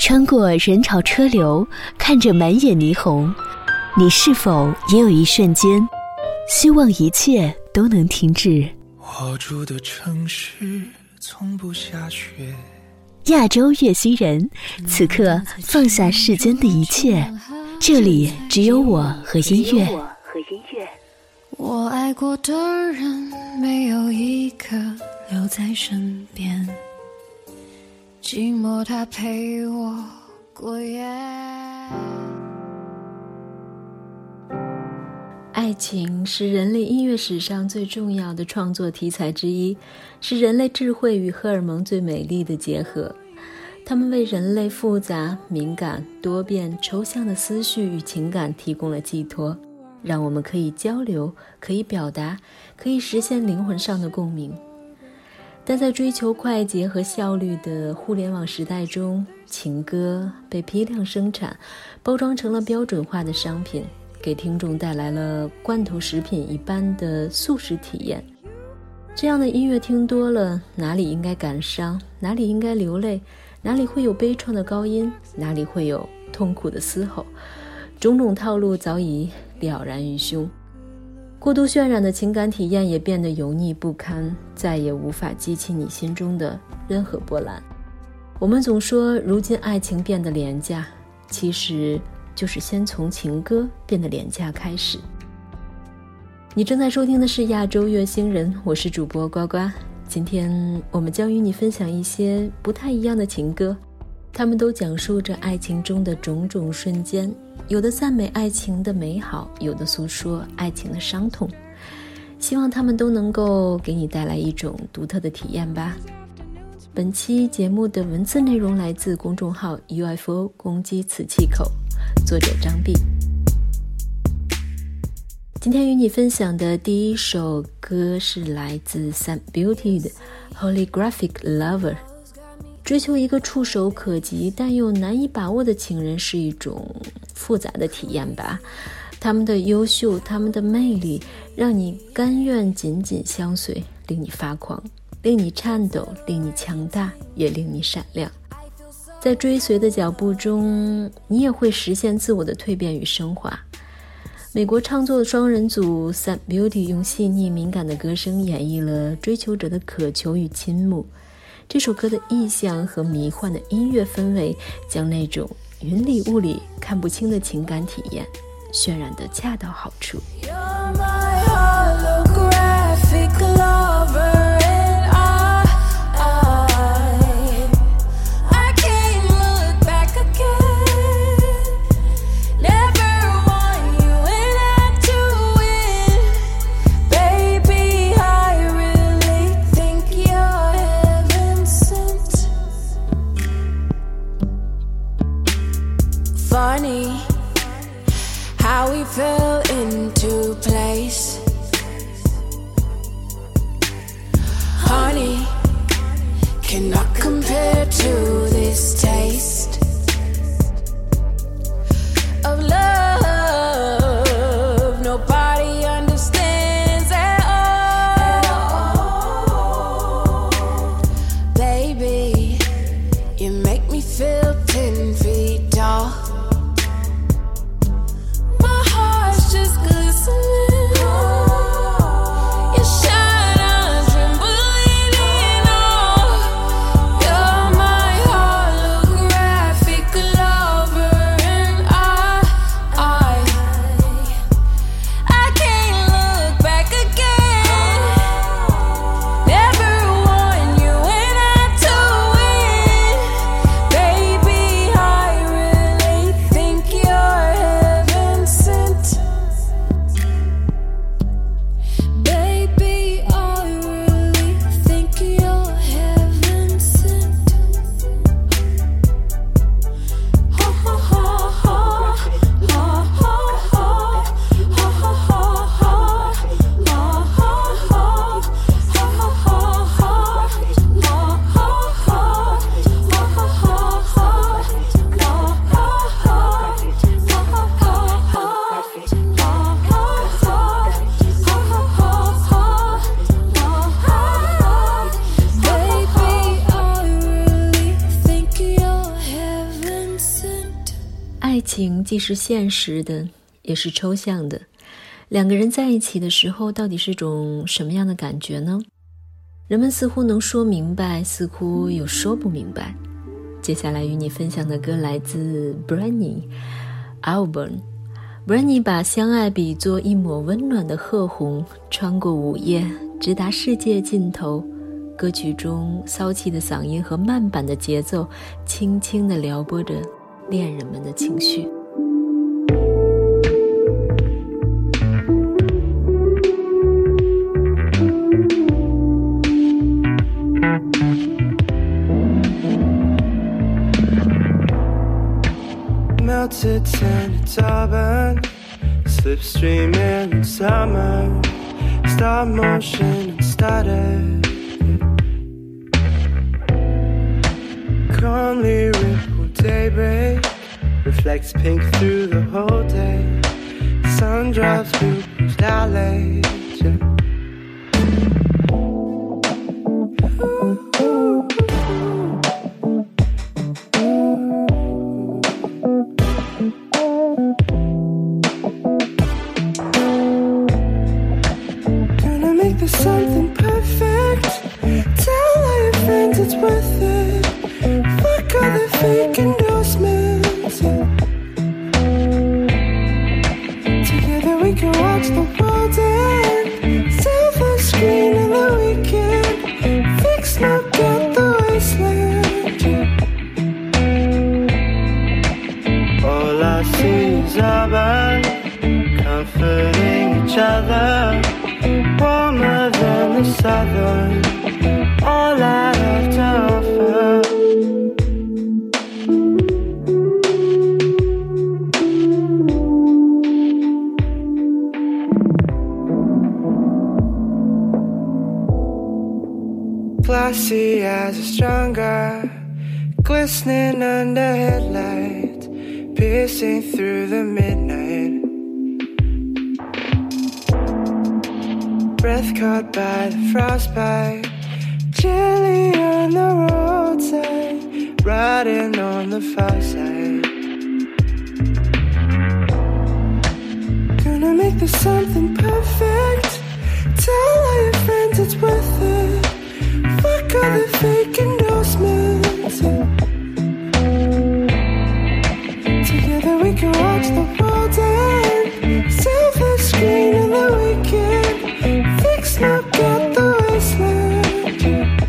穿过人潮车流，看着满眼霓虹，你是否也有一瞬间希望一切都能停止？ 我住的城市从不下雪。 亚洲月星人，此刻放下世间的一切，这里只有我和音乐。 我爱过的人没有一个留在身边，寂寞它陪我过夜。爱情是人类音乐史上最重要的创作题材之一，是人类智慧与荷尔蒙最美丽的结合。它们为人类复杂、敏感、多变、抽象的思绪与情感提供了寄托，让我们可以交流，可以表达，可以实现灵魂上的共鸣。但在追求快捷和效率的互联网时代中，情歌被批量生产，包装成了标准化的商品，给听众带来了罐头食品一般的速食体验。这样的音乐听多了，哪里应该感伤，哪里应该流泪，哪里会有悲怆的高音，哪里会有痛苦的嘶吼，种种套路早已了然于胸。过度渲染的情感体验也变得油腻不堪，再也无法激起你心中的任何波澜。我们总说如今爱情变得廉价，其实就是先从情歌变得廉价开始。你正在收听的是亚洲月星人，我是主播呱呱。今天我们将与你分享一些不太一样的情歌，他们都讲述着爱情中的种种瞬间，有的赞美爱情的美好，有的诉说爱情的伤痛。希望他们都能够给你带来一种独特的体验吧。本期节目的文字内容来自公众号 UFO 攻击此气口，作者张碧。今天与你分享的第一首歌是来自 Sam Beauty 的 Holographic Lover。 追求一个触手可及但又难以把握的情人是一种复杂的体验吧。他们的优秀，他们的魅力，让你甘愿紧紧相随，令你发狂，令你颤抖，令你强大，也令你闪亮。在追随的脚步中，你也会实现自我的蜕变与升华。美国创作双人组 Sam Beauty 用细腻敏感的歌声演绎了追求者的渴求与倾慕。这首歌的意象和迷幻的音乐氛围，将那种云里雾里看不清的情感体验渲染得恰到好处。 You're my holographic lover. Funny how we fell into place. Honey, cannot compare to this taste of love. Nobody understands at all. Baby, you make me feel 10 feet tall. 情既是现实的，也是抽象的。两个人在一起的时候，到底是种什么样的感觉呢？人们似乎能说明白，似乎又说不明白。接下来与你分享的歌来自 Brenny Alburn。Brenny 把相爱比作一抹温暖的褐红，穿过午夜，直达世界尽头。歌曲中骚气的嗓音和慢板的节奏，轻轻地撩拨着恋人们的情绪。 Melted tinted auburn, slipstreaming in summer, stop motion and stutter. Calmly rippled daybreak reflects pink through the whole day. Sun drops through bruised alleys. Gonna make this something perfect. Tell all your friends it's worth it. Fuck all the fake endorsements. Together we can watch the world end. Silver screen in the weekend. Fix smoke at the wasteland. All I see is urban, comforting each other. Warmer than the southern, all I have to offer. Glassy as a stronger, glistening under headlights, piercing through the midnight. Breath caught by the frostbite, chilly on the roadside, riding on the far side. Gonna make this something perfect. Tell all your friends it's worth it. Fuck all the fake endorsements. Together we can watch the world end. Silver screen in the weekend. Fix smoke at the wasteland.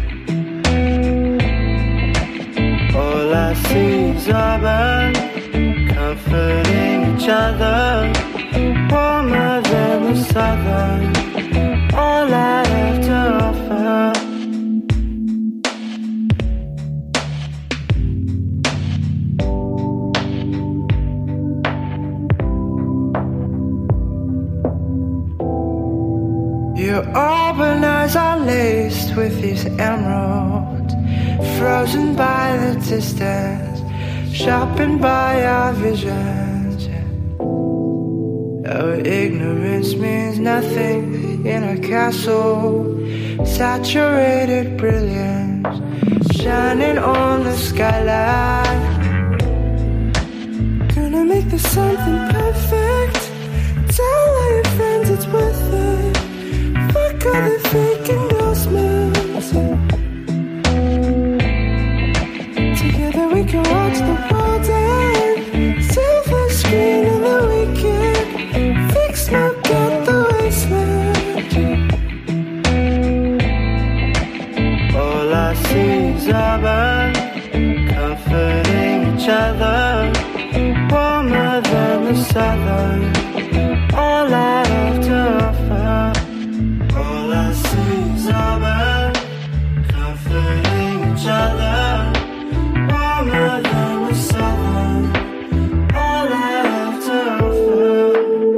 All I see is urban, comforting each other. Warmer than the southern, all I have to offer. Your auburn eyes are laced with these emeralds, frozen by the distance, sharpened by our visions. Our ignorance means nothing in our castle, saturated brilliance, shining on the skyline. Gonna make this something perfect. Tell all your friends it's worth it. Fuck all the fake endorsements. Together we can watch the world end. Silver screen in the weekend. Fix smoke at the wasteland. All I see is urban, comforting each other. Warmer than the southern, all I have to offer. All I see is urban, comforting each other. Warmer than the southern, all I have to offer.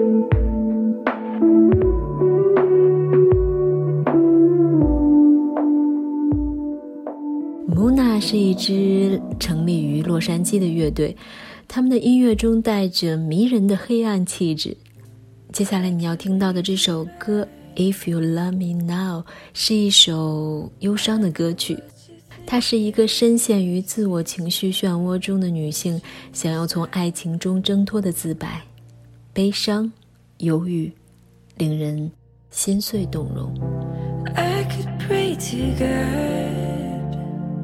Muna 是一支成立于洛杉矶的乐队，他们的音乐中带着迷人的黑暗气质。接下来你要听到的这首歌 If You Love Me Now 是一首忧伤的歌曲， 她是一个深陷于自我情绪漩涡中的女性，想要从爱情中挣脱的自白，悲伤、忧郁，令人心碎动容。 I could pray to God,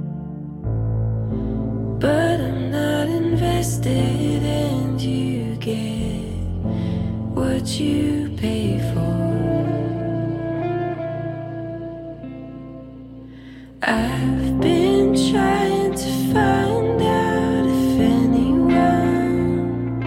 but I'm not invested, and you get what you pay for. I've been trying to find out if anyone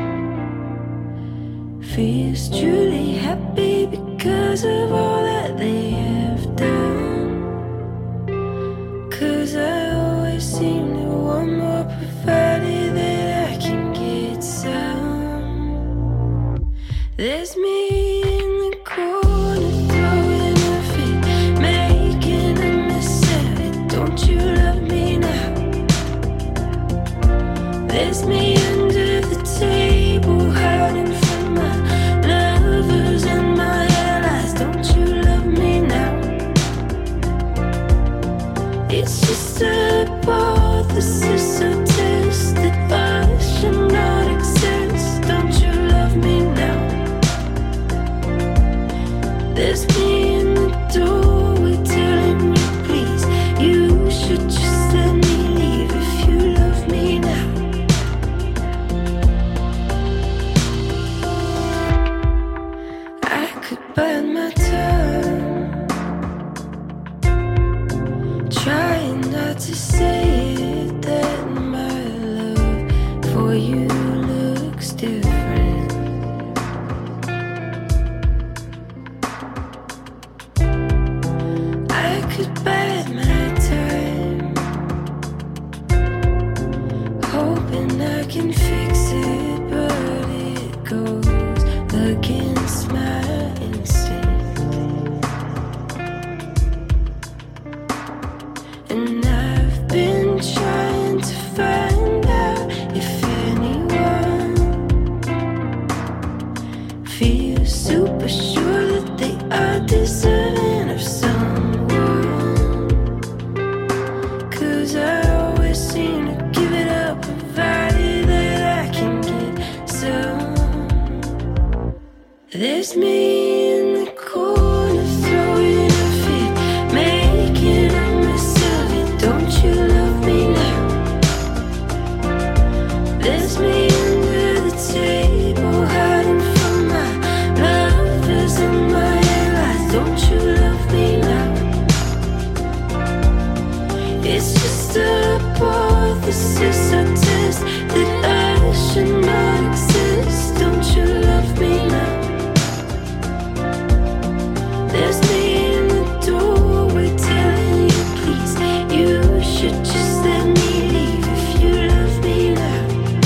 feels truly happy because of all that they have done. 'Cause I always seem to want more, provided that I can get some. There's me in the corner throwing a fit, making a mess of it. Don't you love me now? There's me under the table, hiding from my lovers and my allies. Don't you love me now? It's just a hypothesis, a test that I should not exist. Don't you love me now? There's me in the doorway telling you please, you should just let me leave if you love me now. I could bite my tongue, trying not to say it, that my love for you looks different. I could bide my time, hoping I can fix it, but it goes against my instinct. And I've been trying to find out if anyone feels super sure that they are deserving of someone. 'Cause I always seem to give it up, provided that I can get some. There's me in the corner throwing a fit, making a mess of it. Don't you love me now? There's me under the table, hiding from my lovers and my allies. Don't you love me now? It's just a hypothesis, a test that I should not exist. Don't you love me now? There's me in the doorway telling you please, you should just let me leave if you love me now.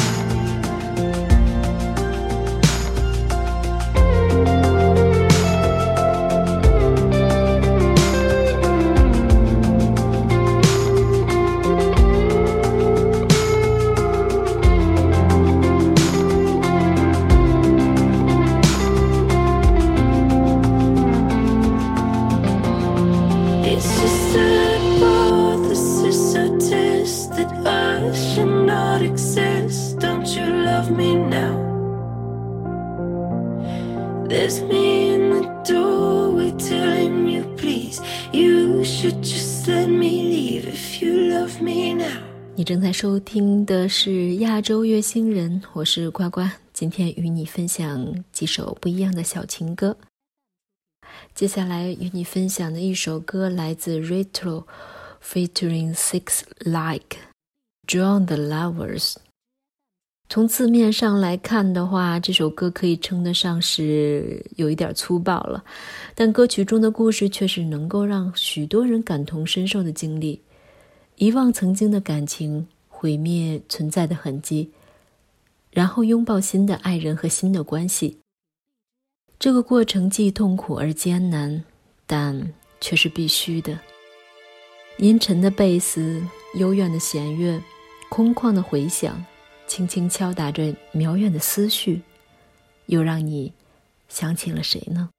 It's just a hypothesis, a test that I should not exist. Don't you love me now? There's me in the doorway telling you please, you should just let me leave if you love me now. 你正在收听的是亚洲乐星人，我是呱呱，今天与你分享几首不一样的小情歌。接下来与你分享的一首歌来自 Retro featuring Six Like Join the Lovers。 从字面上来看的话，这首歌可以称得上是有一点粗暴了，但歌曲中的故事却是能够让许多人感同身受的经历，遗忘曾经的感情，毁灭存在的痕迹，然后拥抱新的爱人和新的关系。这个过程既痛苦而艰难，但却是必须的。阴沉的贝斯，幽怨的弦乐，空旷的回响，轻轻敲打着渺远的思绪，又让你想起了谁呢？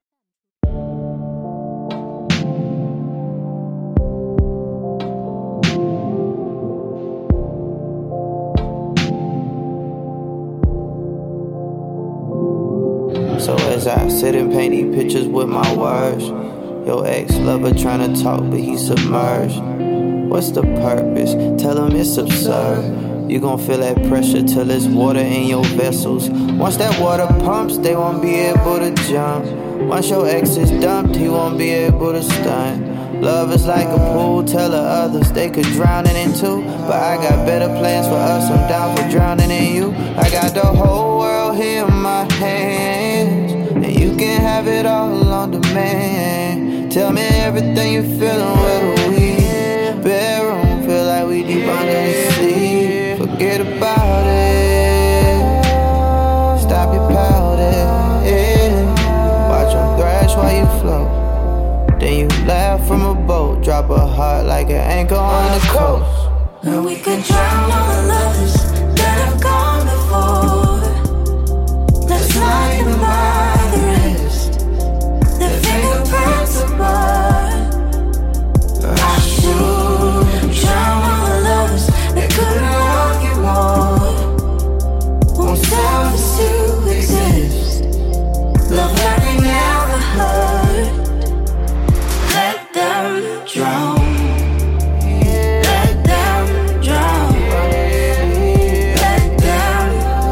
So as I sit and paint these pictures with my words, your ex-lover tryna talk but he submerged. What's the purpose? Tell him it's absurd. You gon' feel that pressure till there's water in your vessels. Once that water pumps, they won't be able to jump. Once your ex is dumped, he won't be able to stunt. Love is like a pool, tell the others they could drown in it too. But I got better plans for us, I'm down for drowning in you. I got the whole world here in my hands, and you can have it all on demand. Tell me everything you're feeling, where the weed bedroom, feel like we deep under the sea. Forget about it, stop your pouting, watch them thrash while you float. Then you laugh from a boat, drop a heart like an anchor on the coast. Now we could drown all the lovers that have gone before. Let's lie them by the wrist, their fingerprints are blood. I should drown all the lovers that couldn't love you more. Won't selfish to exist, love like they never heard. Let them drown. Let them drown. Let them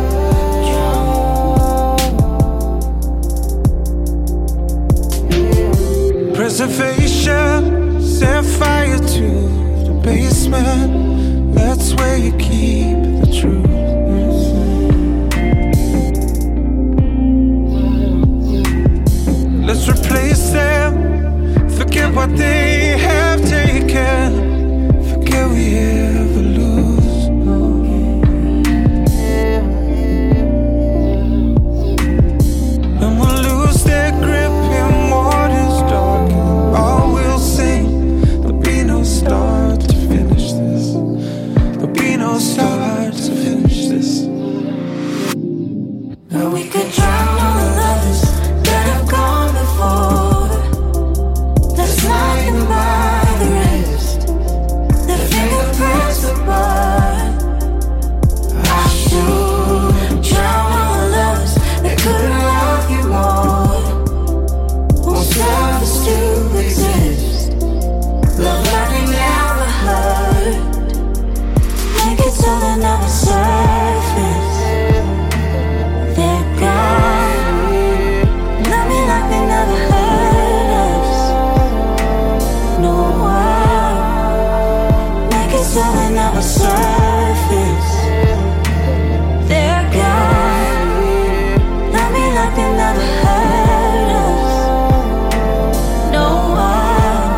drown. Preservation, set fire to the basement. That's where you keep the truth. Let's replace them. Forget what they have taken. Forget we ever lose. And we'll lose their grip in waters dark. All we'll sing. There'll be no start to finish this. There'll be no start to finish this. Now we could drown all the lovers that have gone before. Let's lie them by the wrist, their fingerprints are blood. I should drown all the lovers that couldn't love you more. Won't selfish to exist, love like they never heard. Make it so they never surface. They're gone. Love me like they never heard us. No one. Make it so they never surface. They're gone. Love me like they never heard us. No one.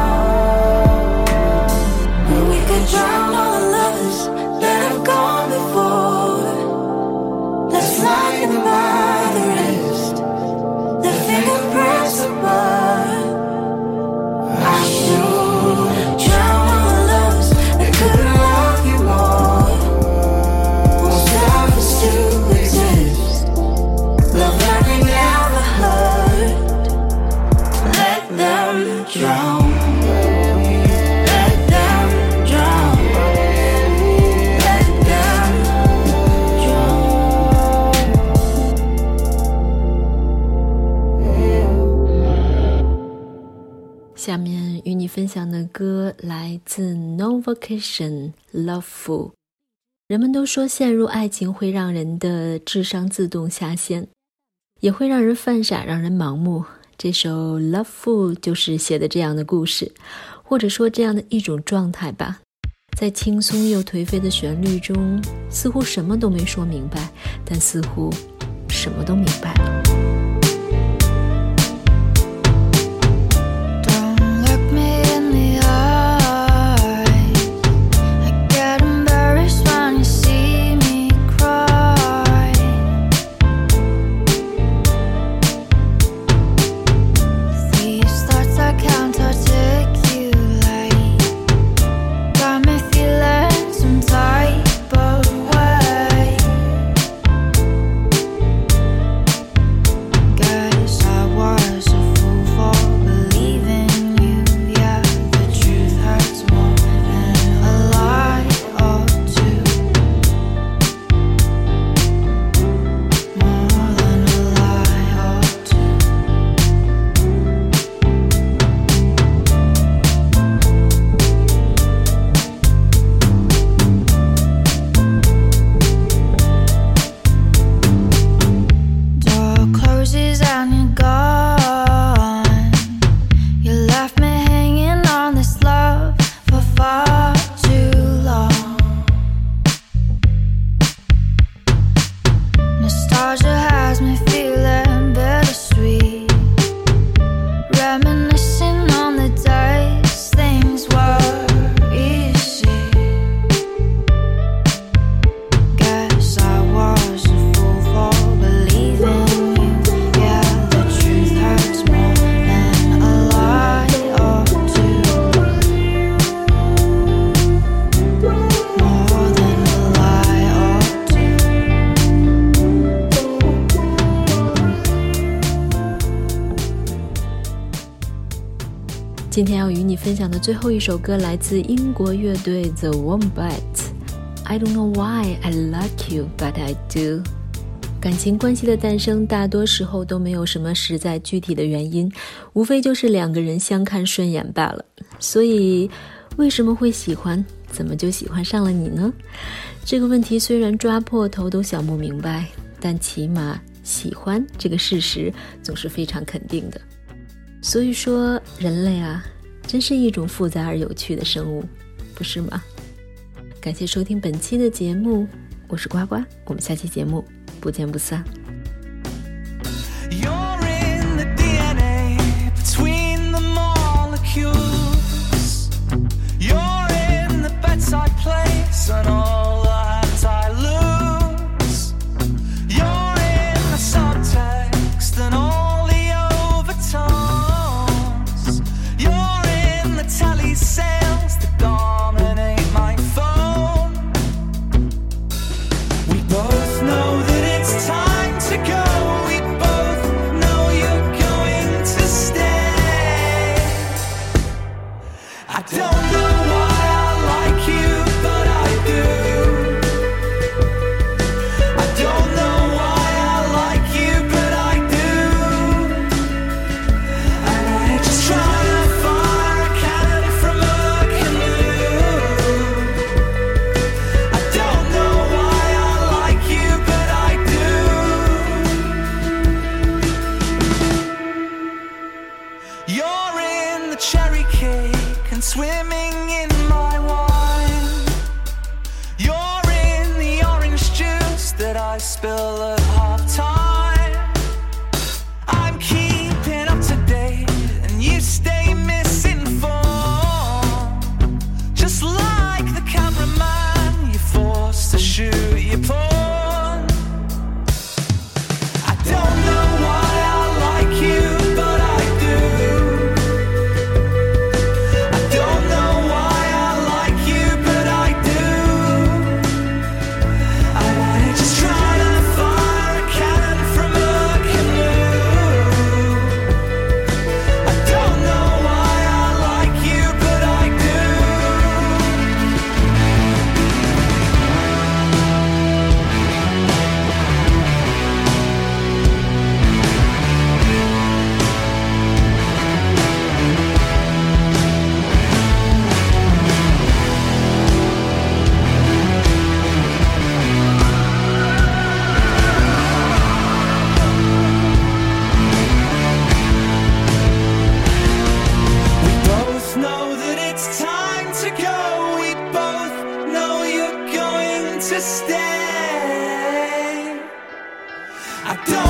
And we could drown all the lovers that have gone before. Let's lie them by the wrist, their fingerprints are blood. I should drown all the lovers that couldn't love you more. Won't selfish to exist, love like they never heard. Let them drown. Let them drown. Let them drown. 下面与你分享的歌来自 No Vacation Loveful。人们都说陷入爱情会让人的智商自动下线，也会让人犯傻，让人盲目。这首 Loveful 就是写的这样的故事，或者说这样的一种状态吧。在轻松又颓废的旋律中，似乎什么都没说明白，但似乎什么都明白了。 今天要与你分享的最后一首歌来自英国乐队 The Wombats， I don't know why I like you but I do。 感情关系的诞生大多时候都没有什么实在具体的原因，无非就是两个人相看顺眼罢了。所以为什么会喜欢，怎么就喜欢上了你呢？这个问题虽然抓破头都想不明白，但起码喜欢这个事实总是非常肯定的。所以说人类啊，真是一种复杂而有趣的生物，不是吗？感谢收听本期的节目，我是呱呱，我们下期节目不见不散。 You're in the DNA between the molecules. You're in the bets I place and all the hands I lose. You're in the subtext and all the overtones. You're in the telesales that dominate my phone. We both know that it's time to go. We both know you're going to stay. I don't know why I like you, but I do. I don't know why I like you, but I do. And I just try to fire a cannon from a canoe. I don't know why I like you, but I do. You're in the cherry cake and swimming in my wine. You're in the orange juice that I spill at half time. I'm keeping up to date and you stay misinformed. Just like the cameraman, you're forced to shoot your porn. I don't know why I like you, but I do. I don't know why I like you, but I do. I might just try to fire a cannon from a canoe. I don't know why I like you, but I do. We both know that it's time to go. We both know you're going to stay. I don't